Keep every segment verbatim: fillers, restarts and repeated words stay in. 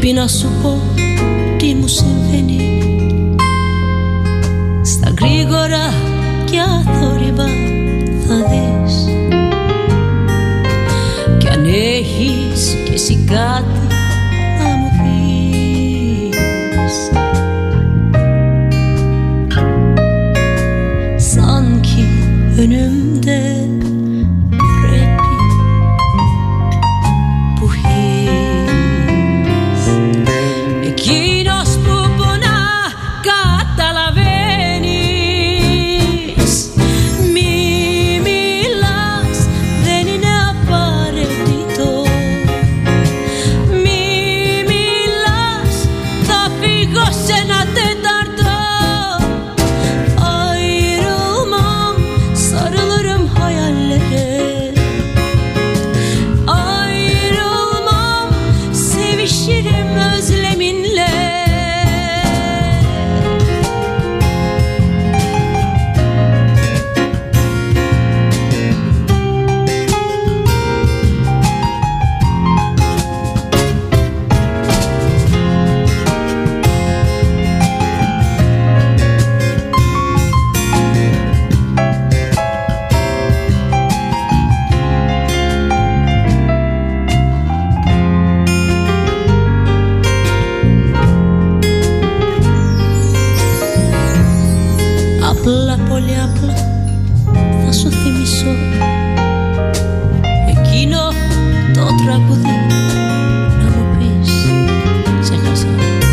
Πρέπει να σου πω τι μου συμβαίνει. Στα γρήγορα και αθόρυβα θα δεις. Κι αν έχεις κι εσύ κάτι να μου πεις. Sanki önümde πρέπει bu his. Εκείνος που πονά καταλαβαίνεις. Μη μιλάς, δεν είναι απαραίτητο. Μη μιλάς, θα φύγω σε ένα τέταρτο. Ayrılmam, sarılırım hayallere. Ayrılmam, sevişirim özleminle. Απλά, πολύ απλά θα σου θυμίσω εκείνο το τραγούδι να μου πεις. Ξέχασα.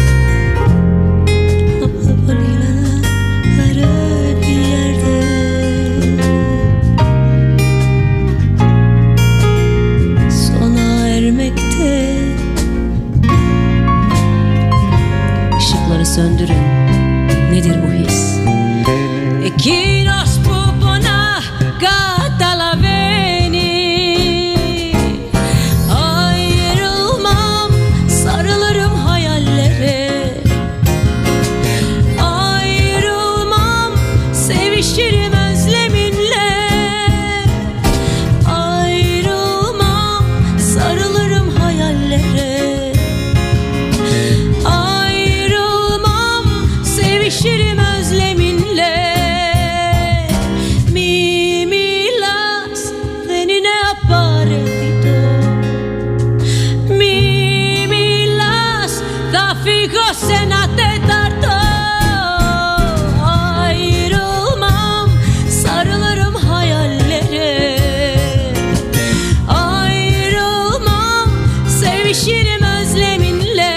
Απλά, πολύ απλά bir yerde. Sona ermekte. Işıkları söndürün. Nedir bu his? Εκείνος που πονά καταλαβαίνει. Ayrılmam, sarılırım hayallere. Ayrılmam, sevişirim özleminle. Ayrılmam, sarılırım hayallere. Ayrılmam, sevişirim özleminle. Σε ένα τέταρτο. Ayrılmam, sarılırım hayallere. Ayrılmam, sevişirim özleminle.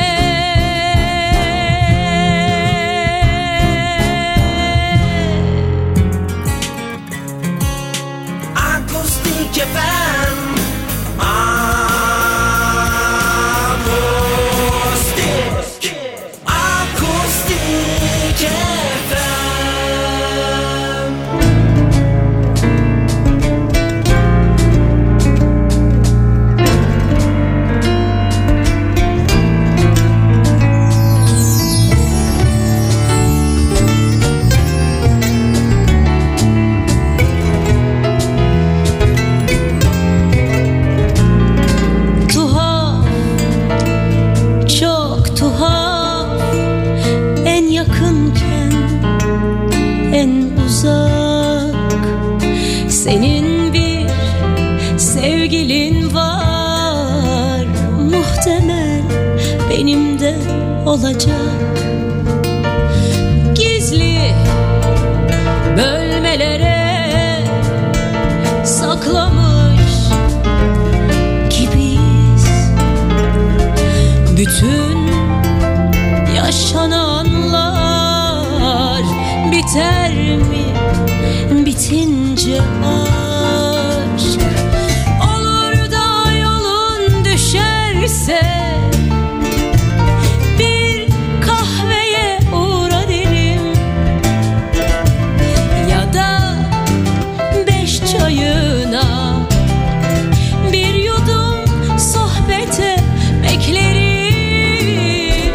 Akustik F M. Senin bir sevgilin var, muhtemel benim de olacak. Gizli bölmelere saklamış gibiyiz. Bütün yaşananlar biter mi? Bitince aşk olur da yolun düşerse bir kahveye uğra derim. Ya da beş çayına bir yudum sohbete beklerim.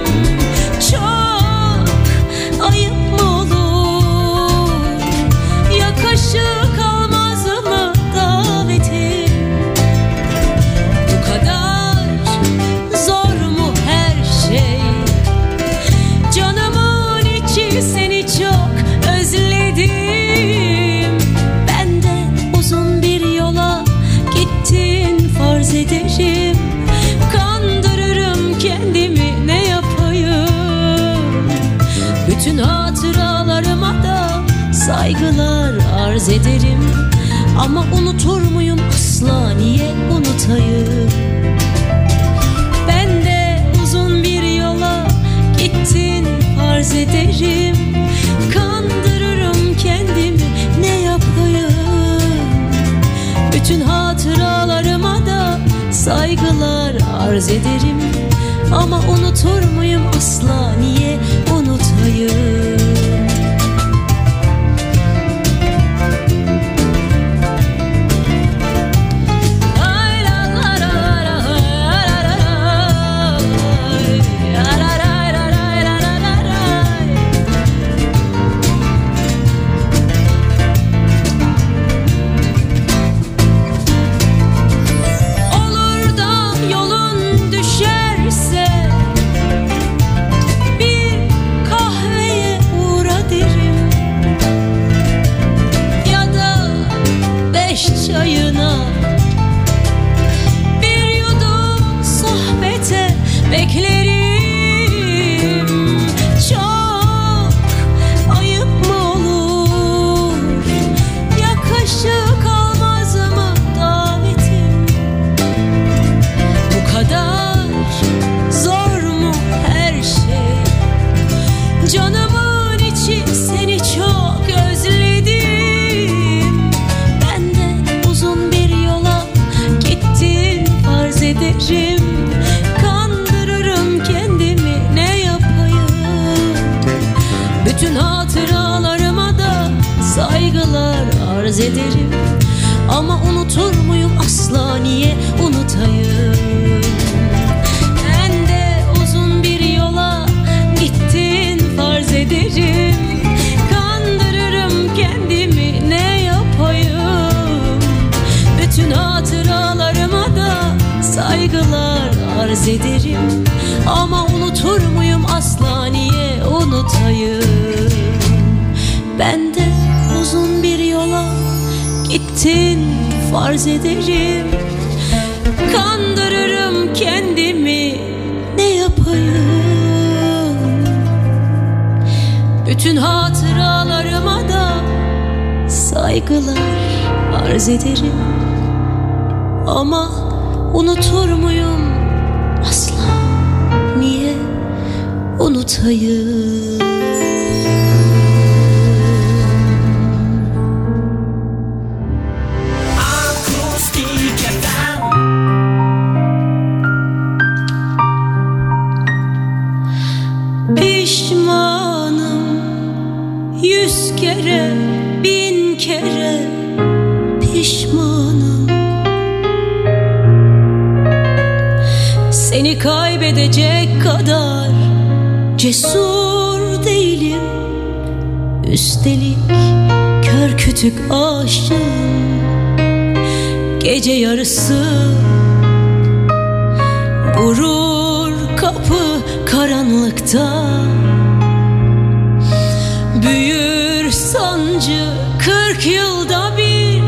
Çok ayıp mı olur? Yakışır saygılar arz ederim. Ama unutur muyum asla, niye unutayım? Ben de uzun bir yola gittin farz ederim. Kandırırım kendimi, ne yapayım? Bütün hatıralarıma da saygılar arz ederim. Ama unutur muyum asla, niye unutayım? Kandırırım kendimi, ne yapayım? Bütün hatıralarıma da saygılar arz ederim. Ama unutur muyum asla, niye unutayım? Ben de uzun bir yola gittin farz ederim. Kandırırım kendimi, ne yapayım? Bütün hatıralarıma da saygılar arz ederim. Ama unutur muyum asla, niye unutayım? Ben de uzun bir yola gittin farz ederim. Kandırırım kendimi, ne yapayım? Bütün hatıralarıma da saygılar arz ederim. Ama unutur muyum asla, niye unutayım? Akustik F M. Pişmanım yüz kere, bin kere pişmanım. Seni kaybedecek kadar cesur değilim. Üstelik kör kütük aşığım. Gece yarısı vurur kapı karanlıkta. Büyür sancı kırk yılda bir.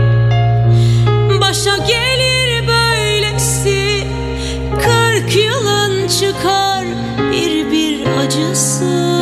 Başa gelir böylesi, kırk yılın çıkar bir bir acısı.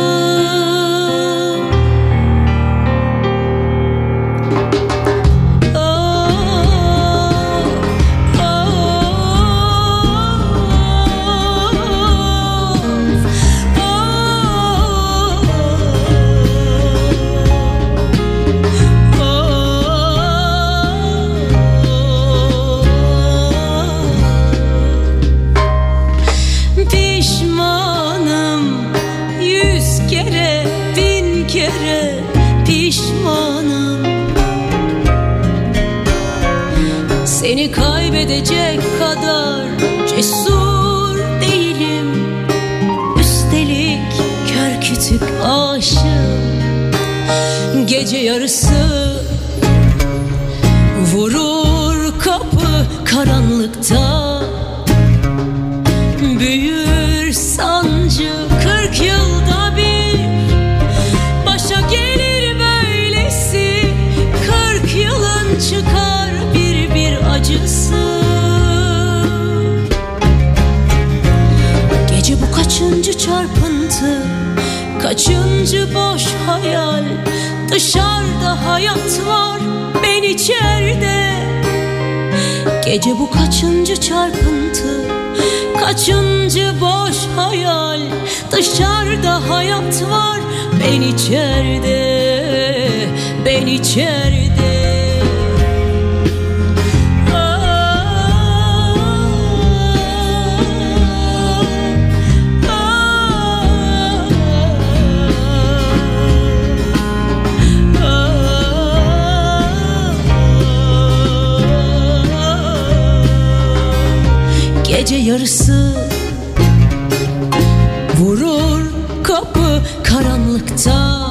Seni kaybedecek kadar cesur değilim. Üstelik kör kütük aşığım. Gece yarısı vurur kapı karanlıkta. Büyür sancı kırk yılda bir. Başa gelir böylesi, kırk yılın çıkar bir bir acısı. Gece bu kaçıncı çarpıntı, kaçıncı boş hayal. Dışarıda hayat var ben içeride. Gece bu kaçıncı çarpıntı, kaçıncı boş hayal. Dışarıda hayat var ben içeride, ben içeride. Gece yarısı vurur kapı karanlıkta,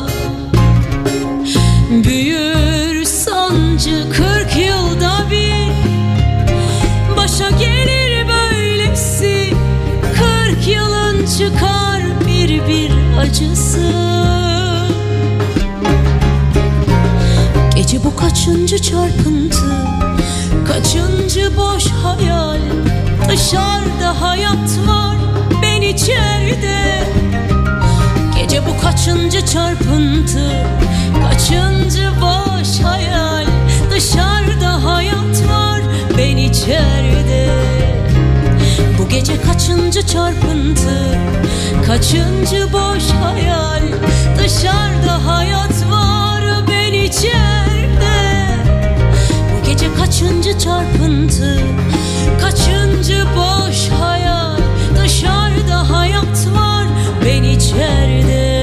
büyür sancı kırk yılda bir. Başa gelir böylesi, kırk yılın çıkar bir bir acısı. Gece bu kaçıncı çarpıntı, kaçıncı boş hayal. Dışarıda hayat var ben içeride. Gece bu kaçıncı çarpıntı, kaçıncı boş hayal. Dışarıda hayat var ben içeride. Bu gece kaçıncı çarpıntı, kaçıncı boş hayal. Dışarıda hayat var ben içeride. Bu gece kaçıncı çarpıntı, kaçıncı boş hayal. Dışarıda hayat var ben içeride,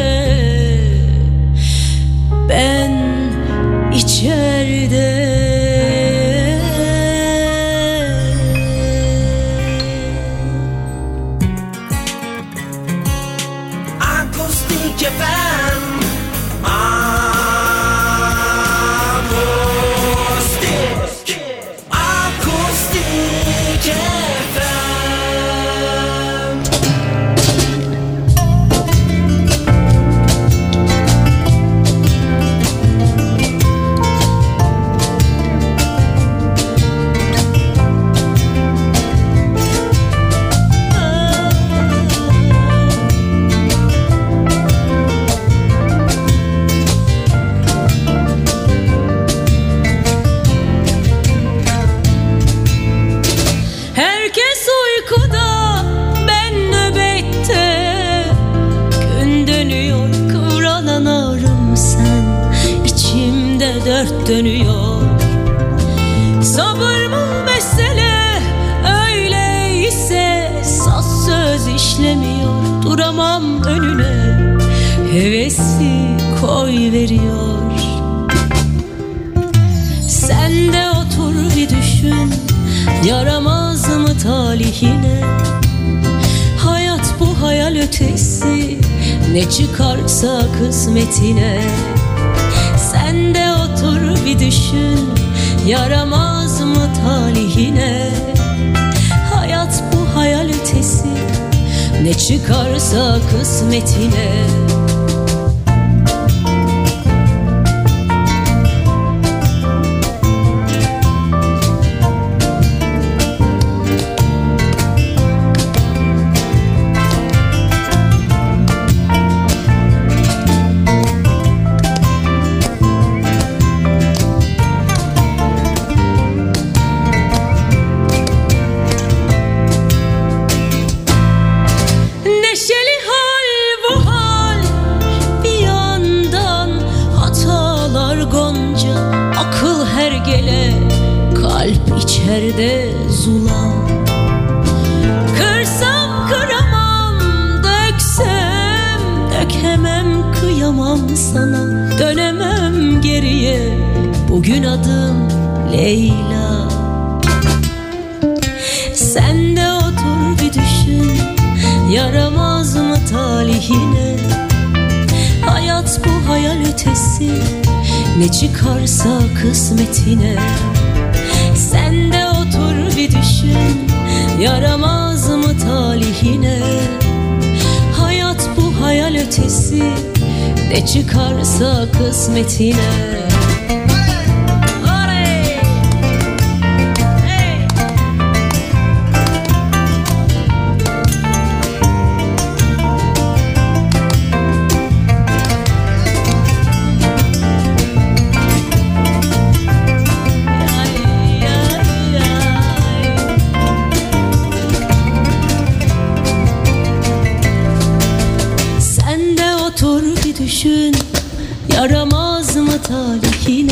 ben içeride. Akustik F M. Dört dönüyor. Sabır mı mesele, öyleyse saz söz işlemiyor. Duramam önüne, hevesi koy veriyor. Sen de otur bir düşün, yaramaz mı talihine? Hayat bu hayal ötesi, ne çıkarsa kısmetine. Sen de otur bir düşün, yaramaz mı talihine? Hayat bu hayal ötesi, ne çıkarsa kısmetine. İçeride zula, kırsam kıramam, döksem dökemem, kıyamam sana. Dönemem geriye, bugün adım Leyla. Sen de otur bir düşün, yaramaz mı talihine? Hayat bu hayal ötesi, ne çıkarsa kısmetine. Sen de otur bir düşün, yaramaz mı talihine? Hayat bu hayal ötesi, ne çıkarsa kısmetine.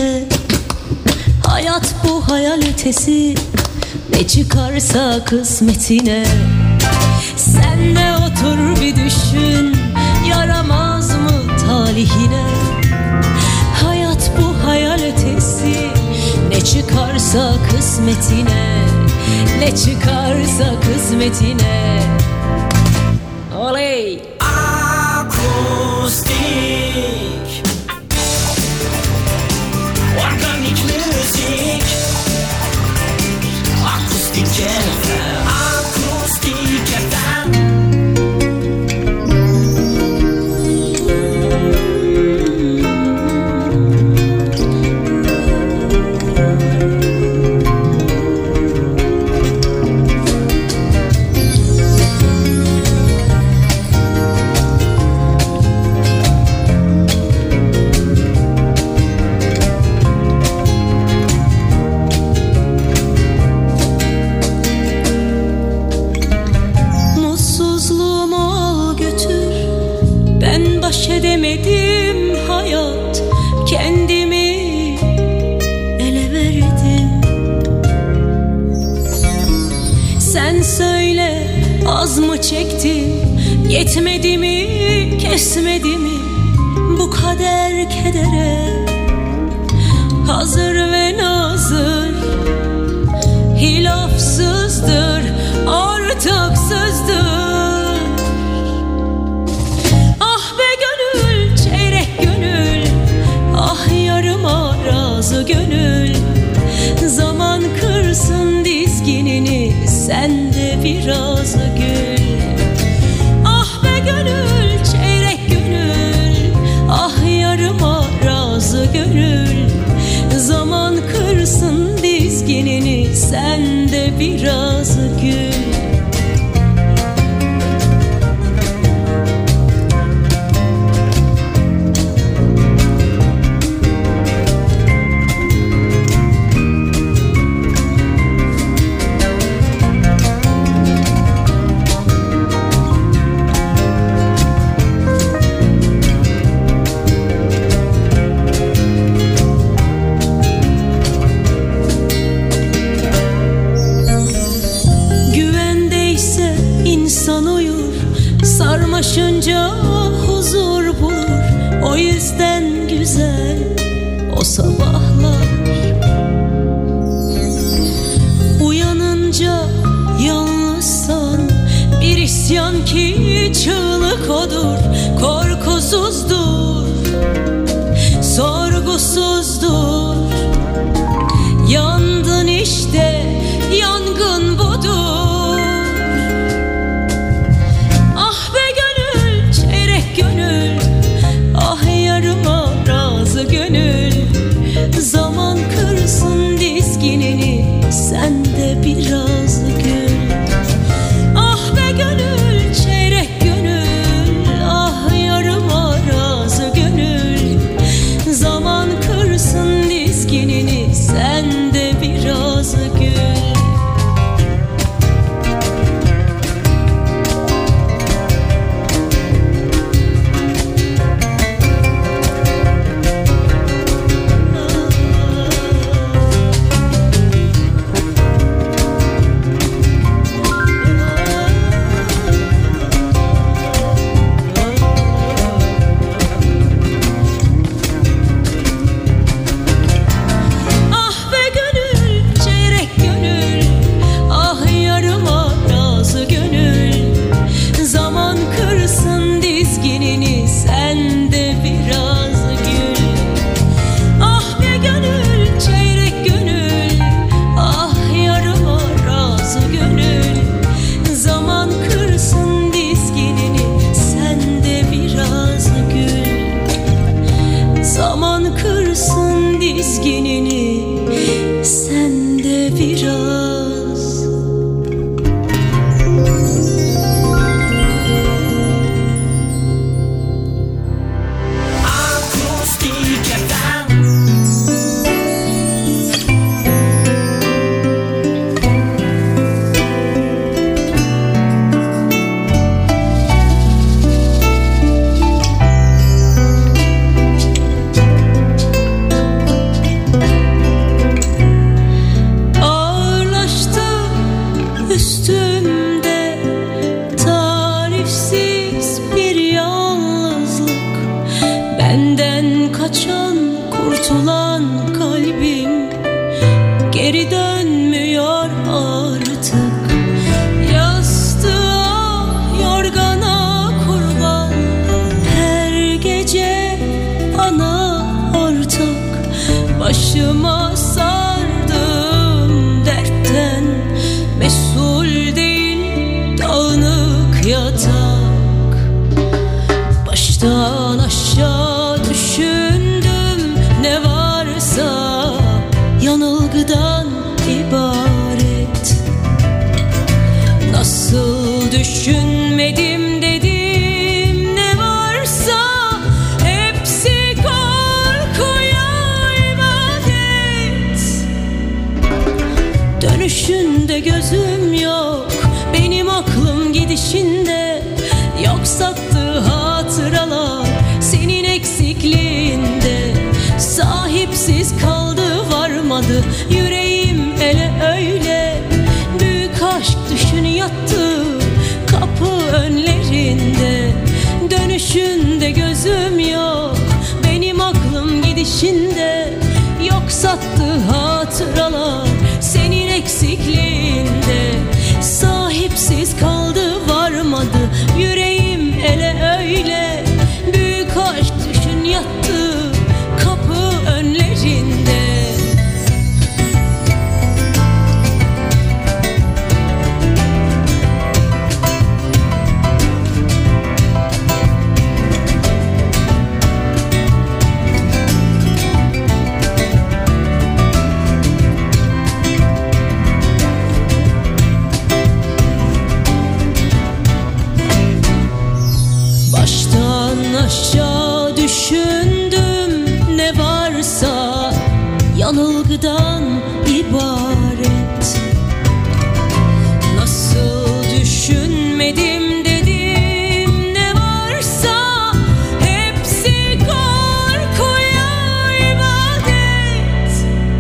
peşine. Hayat bu hayal ötesi, ne çıkarsa kısmetine. Sen de otur bir düşün, yaramaz mı talihine? Hayat bu hayal ötesi, ne çıkarsa kısmetine. Ne çıkarsa kısmetine. Oley! Akustik organik müzik. Akustik F M. Akustik F M. Edemedim hayat, kendimi ele verdim. Sen söyle, az mı çektim, yetmedi mi, kesmedi mi bu kader kedere? Hazır ve nazır, hilafsızdır, ortaksızdır. Gönül, zaman kırsın dizginini, sen de biraz gül. Ah be gönül, çeyrek gönül, ah yarıma razı gönül. Zaman kırsın dizginini, sen de biraz gül. Sarmaşınca huzur bulur, o yüzden güzel o sabahlar. Uyanınca yalnızsan bir isyan ki çığlık odur. Korkusuzdur, sorgusuzdur. Yandın işte, yangın budur. Gönül, zaman kırsın dizginini, sen de biraz gül. Ah be gönül, çeyrek gönül, ah yarıma razı gönül. Zaman kırsın dizginini, sen de biraz gül. Dönüşünde gözüm yok, benim aklım gidişinde. Yok sattığı hatıralar senin eksikliğinde. Sahipsiz kaldı varmadı yüreğim ele öyle. Büyük aşk düşün yattı kapı önlerinde. Dönüşünde gözüm yok, benim aklım gidişinde. Yok sattığı hatıralar senin eksikliğinde. Sahipsiz kaldı varmadı yüreğim ele öyle. Büyük aşk düşün yattı kapı önlerinde. Aşağı düşündüm ne varsa yanılgıdan ibaret. Nasıl düşünmedim dedim ne varsa hepsi korkuya ibadet.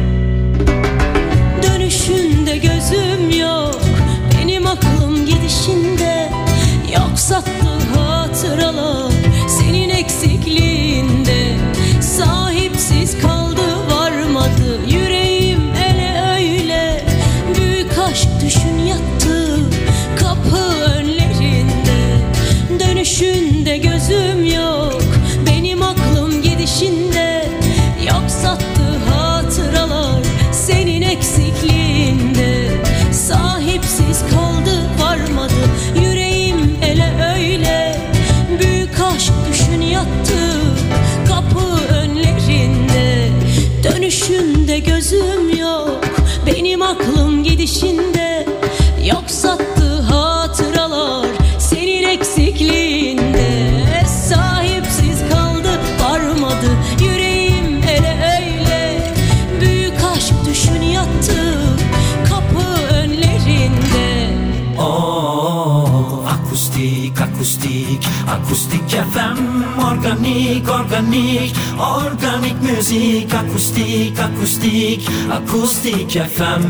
Dönüşünde gözüm yok, benim aklım gidişinde. Yok sattığı hatıralar senin eksikliğinde. Sahipsiz kaldı varmadı yüreğim ele öyle. Büyük aşk düşün yattı kapı önlerinde. Dönüşünde gözüm yok, benim aklım gidişinde. Yok sattığı hatıralar senin eksikliğinde. Sahipsiz kaldı varmadı yüreğim ele öyle. Büyük aşk düşün yattı kapı önlerinde. Dönüşünde gözüm yok, benim aklım gidişinde. Yok sattığı hatıralar senin eksikliğinde. Sahipsiz kaldı varmadı yüreğim ele öyle. Büyük aşk düşün yattı kapı önlerinde. Oh, akustik, akustik, akustik F M. Organik, organik, organik müzik. Akustik, akustik, akustik F M.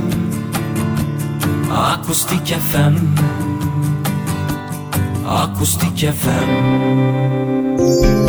Akustik F M. Akustik F M.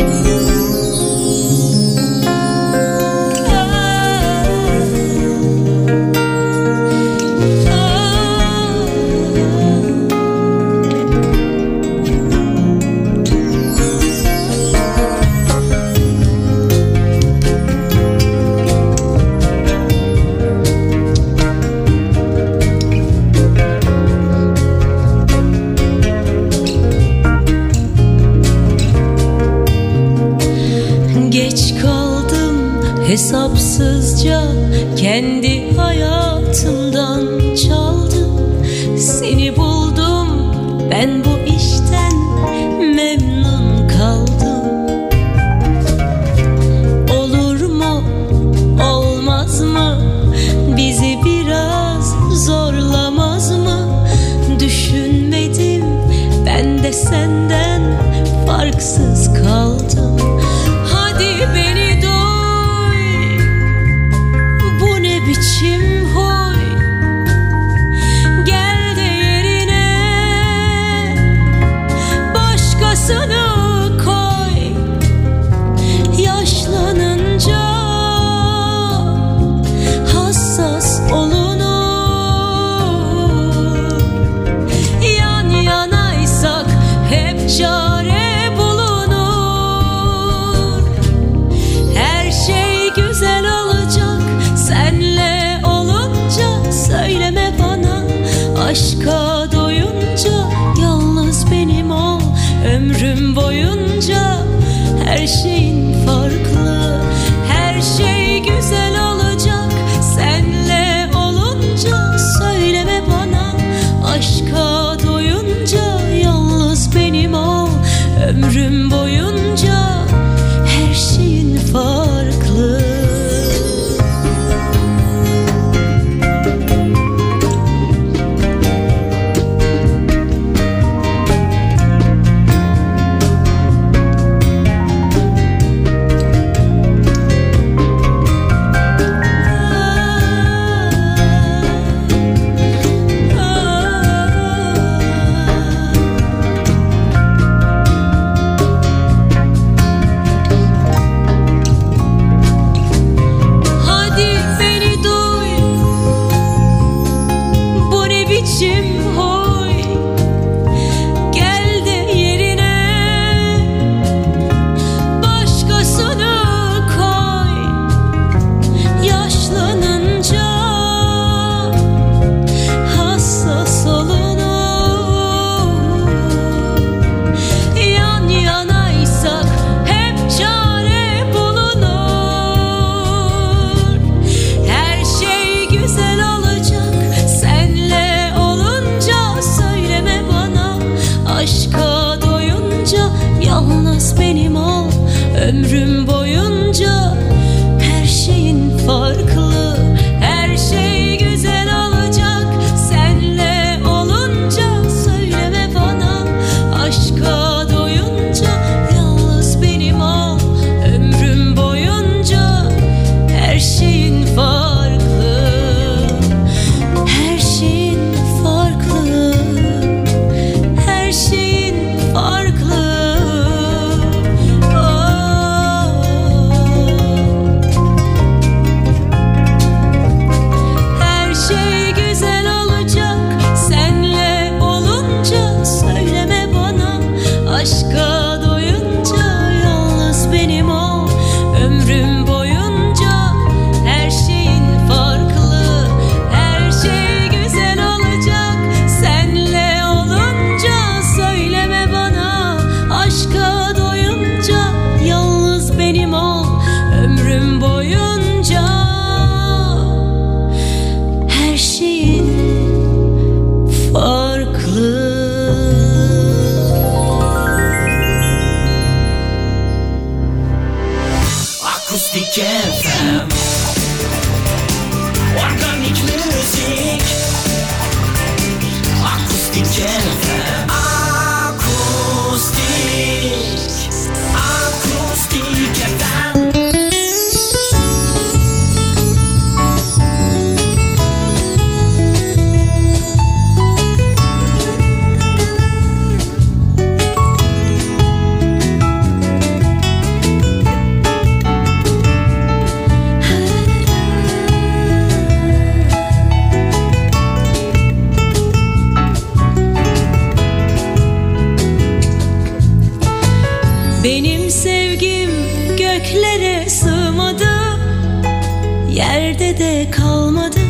Hesapsızca kendi hayatımdan çaldım. Seni buldum, ben bu işten memnun kaldım. Olur mu, olmaz mı, bizi biraz zorlamaz mı? Düşünmedim, ben de senden farksız kaldım. Hadi beni biçim huy, gel de yerine göklere sığmadı, yerde de kalmadı.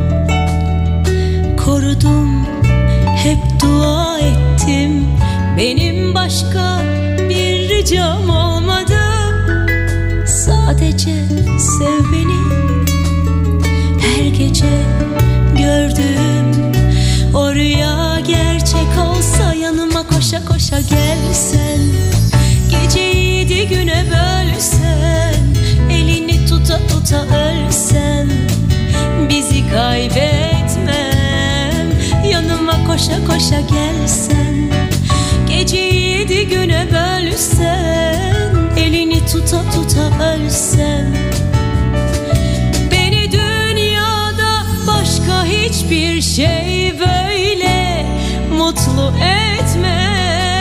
Korudum, hep dua ettim, benim başka bir ricam olmadı. Sadece sev beni, her gece gördüğüm o rüya gerçek olsa, yanıma koşa koşa gelsen, geceyi yedi güne bölsen, elini tuta tuta ölsen, bizi kaybetmem. Yanıma koşa koşa gelsen, geceyi yedi güne bölsen, elini tuta tuta ölsen, beni dünyada başka hiçbir şey böyle mutlu etmez.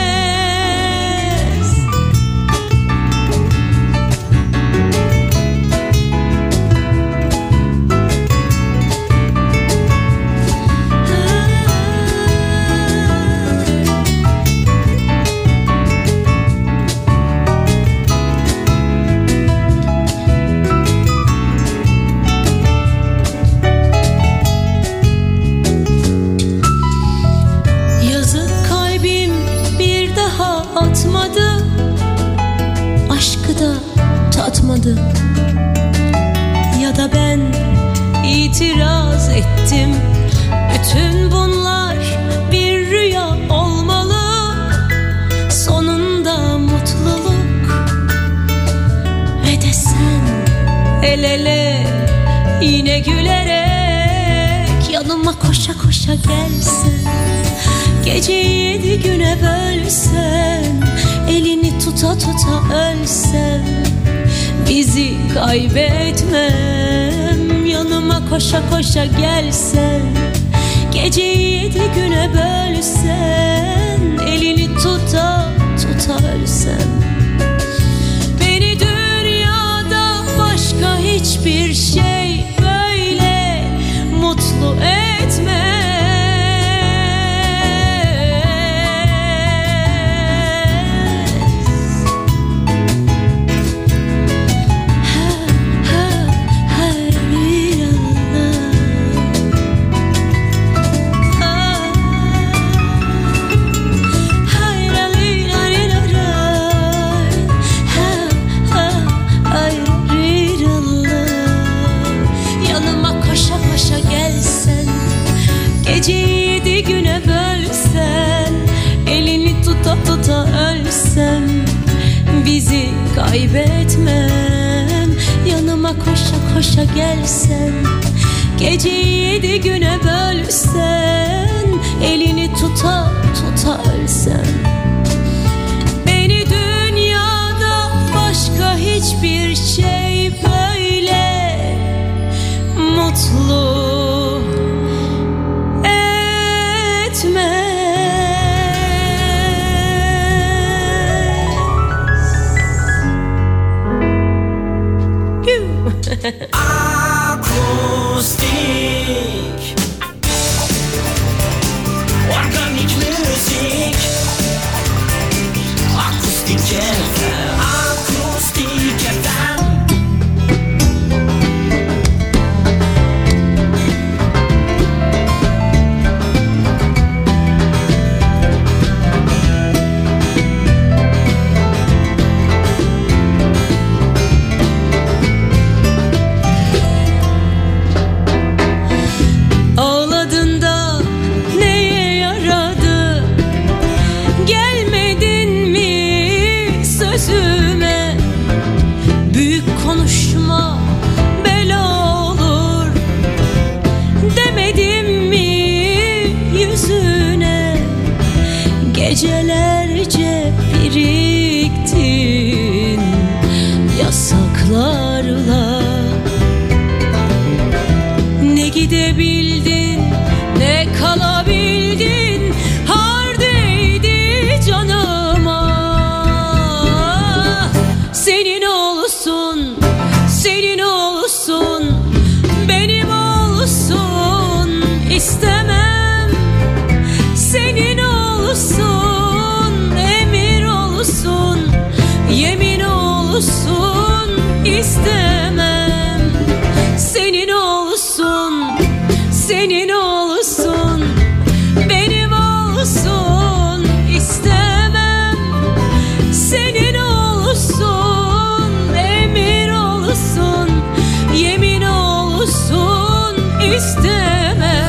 Tatmadı, ya da ben itiraz ettim. Bütün bunlar bir rüya olmalı, sonunda mutluluk. Ve de sen el ele yine gülerek, yanıma koşa koşa gelsen, geceyi yedi güne bölsen, elini tuta tuta ölsen, bizi kaybetmem. Yanıma koşa koşa gelsen, geceyi yedi güne bölsen, elini tuta tuta ölsen, beni dünyada başka hiçbir şey böyle mutlu etmez. Tuta ölsem, bizi kaybetmem. Yanıma koşa koşa gelsen, geceyi yedi güne bölsen, elini tuta tuta ölsem, beni dünyada başka hiçbir şey böyle mutlu etmez. Akustik Organik müzik Akustik F M Akustik F M Gecelerce biriktin yasaklarla, ne gidebildin ne kalabildin, har değdi canıma. Senin olsun, senin olsun, benim olsun istemem. Senin olsun, emir olsun, yemin olsun istemem.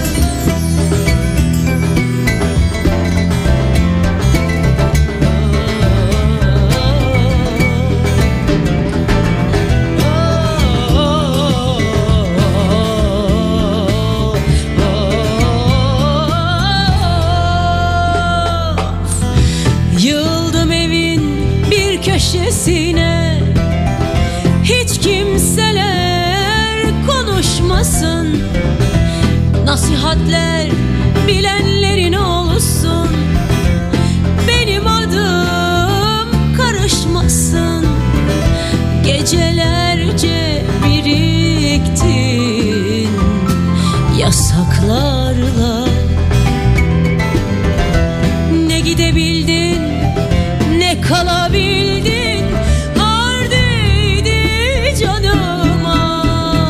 Yıldım evin bir köşesine, hiç kimseler konuşmasın. Nasihatler bilenlerin olsun, benim adım karışmasın. Gecelerce biriktin yasaklarla, ne gidebildin ne kalabildin, hardeydi canıma.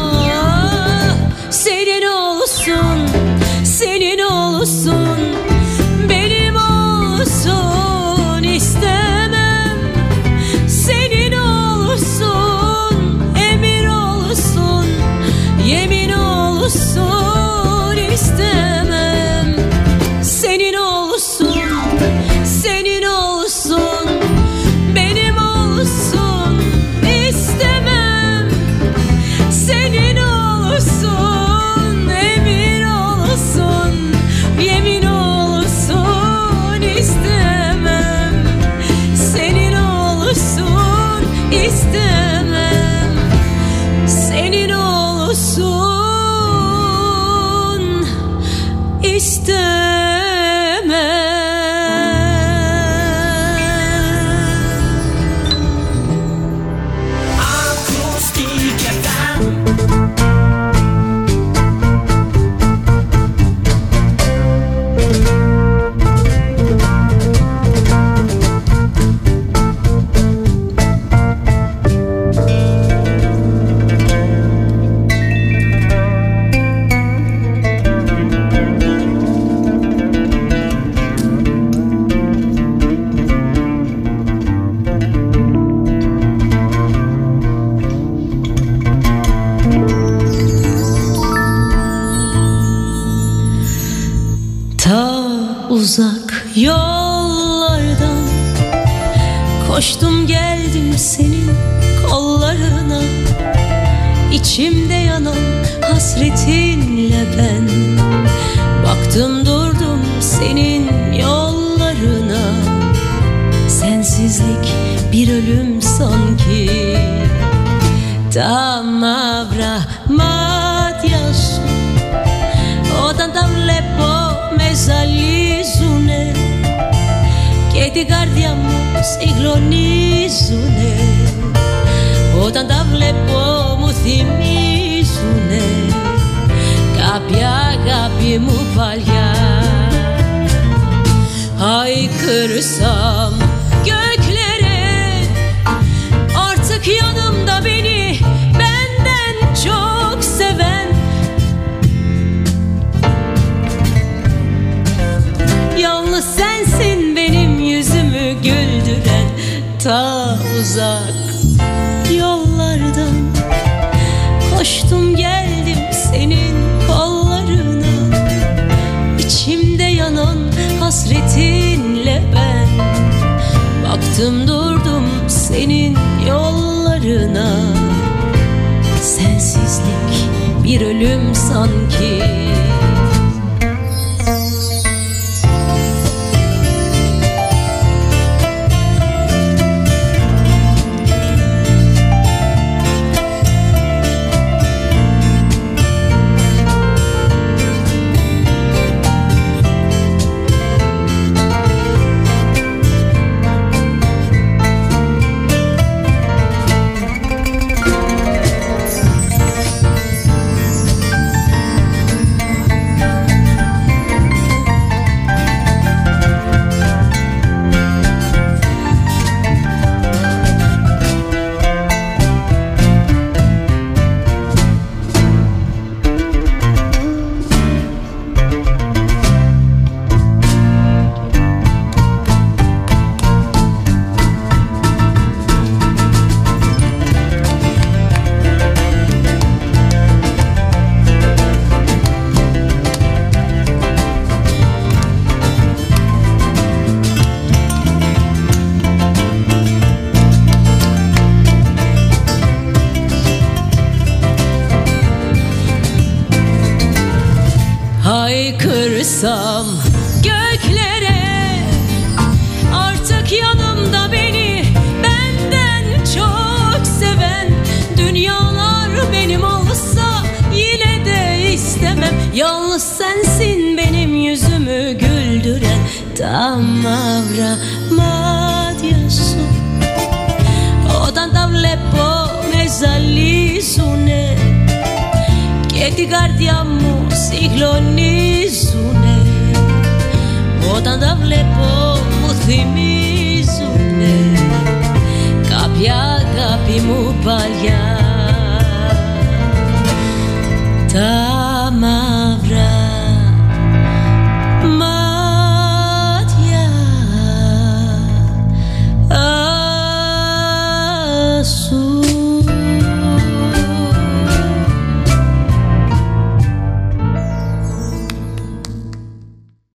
Senin olsun, senin olsun, benim olsun istemem. Senin olsun, emir olsun, yemin olsun istemem. Senin olsun, senin olsun, benim olsun istemem. Senin olsun, emir olsun, yemin olsun istemem. Senin olsun istemem. Senin olsun istemem. Uzak yollardan koştum geldim senin kollarına. İçimde yanan hasretinle ben baktım durdum senin yollarına. Sensizlik bir ölüm sanki. Tam avrahmat yasu όταν τα βλέπω με ζαλίζουνε και την καρδιά μου συγκλονίζουνε. Όταν τα βλέπω μου θυμίζουνε κάποια αγάπη μου παλιά. Haykırsam göklere, artık yanımda beni benden çok seven, yalnız sensin benim yüzümü güldüren. Ta uzak yollardan koştum geldim senin kollarına. İçimde yanan hasretinle ben baktım durdum senin yollarına. Sensizlik bir ölüm sanki. çıksam göklere, artık yanımda beni benden çok seven dünyalar benim olsa yine de istemem. Yalnız sensin benim yüzümü güldüren, tam avra su. Όταν τα βλέπω με ζαλίζουνε και την καρδιά μου συγκλονίζουνε. Όταν τα βλέπω μου θυμίζουνε κάποια αγάπη μου παλιά. Τα